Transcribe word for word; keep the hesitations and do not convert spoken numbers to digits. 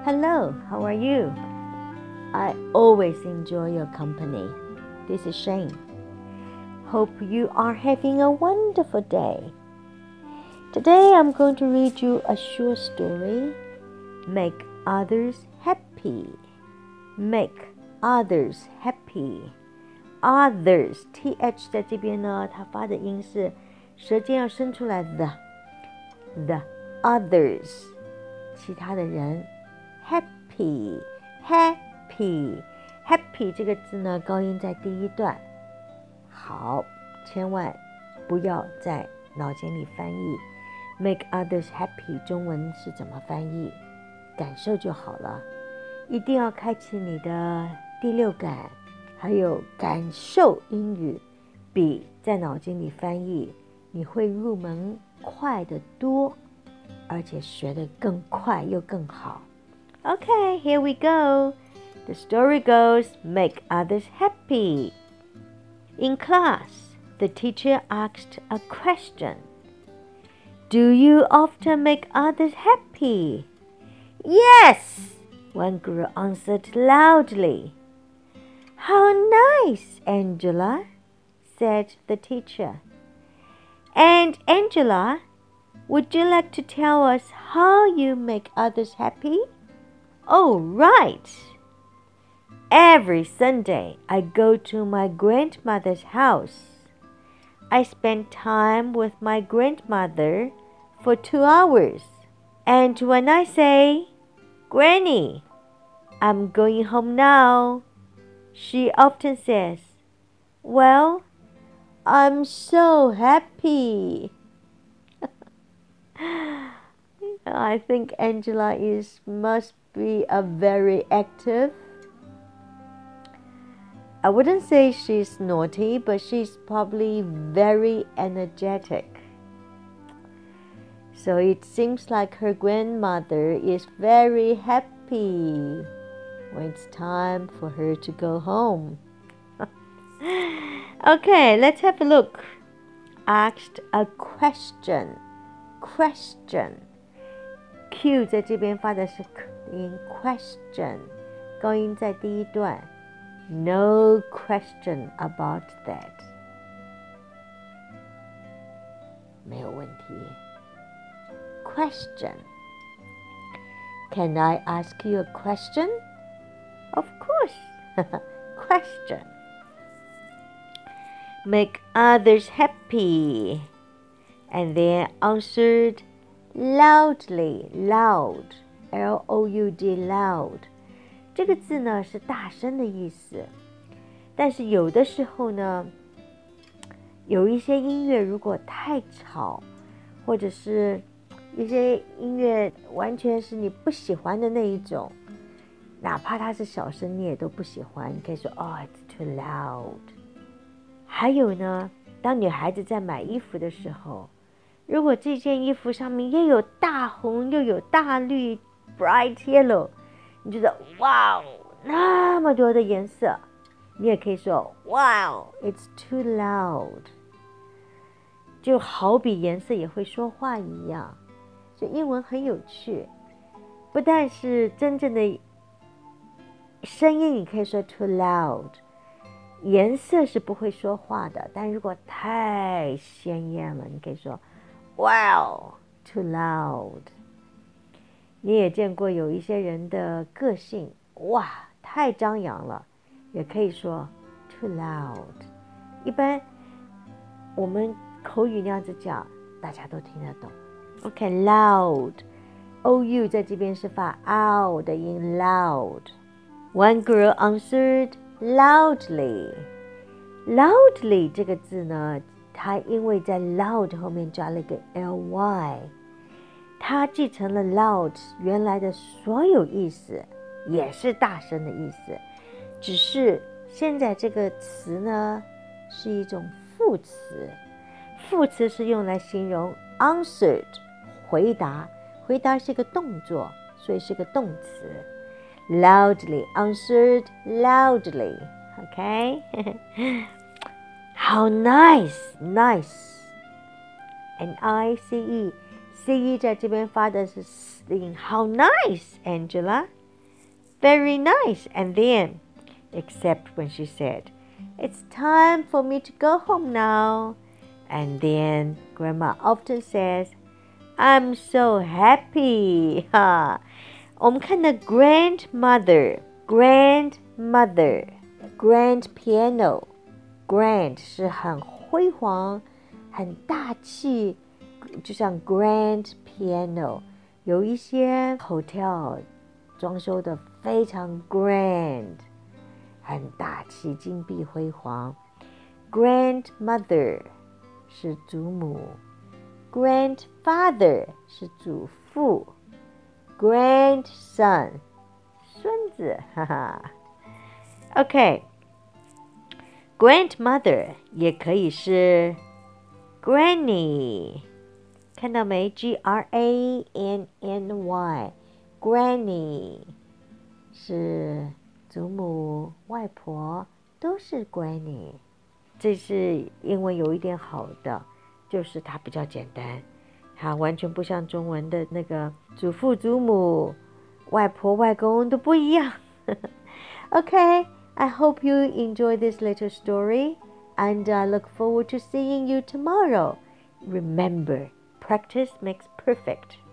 Hello, how are you? I always enjoy your company. This is Shane. Hope you are having a wonderful day. Today I'm going to read you a short story. Make others happy. Make others happy. Others, th 在这边呢，它发的音是舌尖要伸出来的 the others， 其他的人 happy happy happy 这个字呢，高音在第一段。好，千万不要在脑筋里翻译 make others happy 中文是怎么翻译，感受就好了。一定要开启你的第六感，还有感受英语，比在脑筋里翻译你会入门快得多，而且学得更快又更好。 Okay, here we go. The story goes, make others happy. In class, the teacher asked a question. Do you often make others happy? Yes, one girl answered loudly. How nice, Angela, said the teacher. And Angela, would you like to tell us how you make others happy? Oh, right. Every Sunday, I go to my grandmother's house. I spend time with my grandmother for two hours. And when I say, Granny, I'm going home now, she often says, Well, I'm so happy. I think Angela is must be a very active. I wouldn't say she's naughty, but she's probably very energetic. So it seems like her grandmother is very happy when it's time for her to go home. Okay, let's have a look. Asked a question. Question. Q 在这边发的是音 question， 高音在第一段。No question about that. 没有问题。Question. Can I ask you a question? Of course. Question. Make others happy. And then answered loudly. Loud. L O U D. Loud. 这个字呢是大声的意思，但是有的时候呢，有一些音乐如果太吵，或者是一些音乐完全是你不喜欢的那一种，哪怕它是小声你也都不喜欢，你可以说 Oh, it's too loud。 还有呢，当女孩子在买衣服的时候，如果这件衣服上面又有大红又有大绿 bright yellow，你觉得哇，那么多的颜色，你也可以说 Wow, it's too loud。 就好比颜色也会说话一样，所以英文很有趣，不但是真正的声音你可以说 too loud， 颜色是不会说话的，但如果太鲜艳了，你可以说 Wow, too loud。你也见过有一些人的个性，哇，太张扬了，也可以说 too loud。 一般我们口语那样子讲，大家都听得懂。 OK, loud O U 在这边是发 ow 的音 loud。 One girl answered loudly. Loudly 这个字呢，它因为在 loud 后面加了一个 ly，它继承了 loud 原来的所有意思，也是大声的意思，只是现在这个词呢是一种副词。副词是用来形容 answered 回答，回答是一个动作，所以是个动词。 Loudly answered loudly. Okay. How nice. Nice. N I C E C E 在这边发的是音 How nice, Angela, very nice. And then, except when she said, it's time for me to go home now. And then Grandma often says, I'm so happy. 哈，我们看到 grandmother, grandmother, grand piano, grand 是很辉煌、很大气，就像 grand piano。有一些 hotel 装修的非常 grand， 很大气，金碧辉煌。grandmother 是祖母。Grandfather 是祖父 ，grandson 孙子，哈哈。OK， grandmother 也可以是 granny， 看到没 ？G R A N N Y，granny 是祖母、外婆，都是 granny。这是英文有一点好的。就是它比较简单，它完全不像中文的那个祖父、祖母、外婆、外公都不一样。Okay, I hope you enjoy this little story, and I look forward to seeing you tomorrow. Remember, practice makes perfect.